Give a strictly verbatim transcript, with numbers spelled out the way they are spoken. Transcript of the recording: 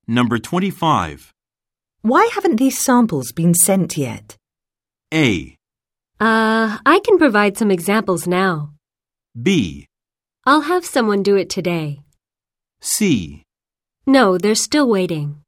Number twenty-five. Why haven't these samples been sent yet? A. Uh, I can provide some examples now. B. I'll have someone do it today. C. No, they're still waiting.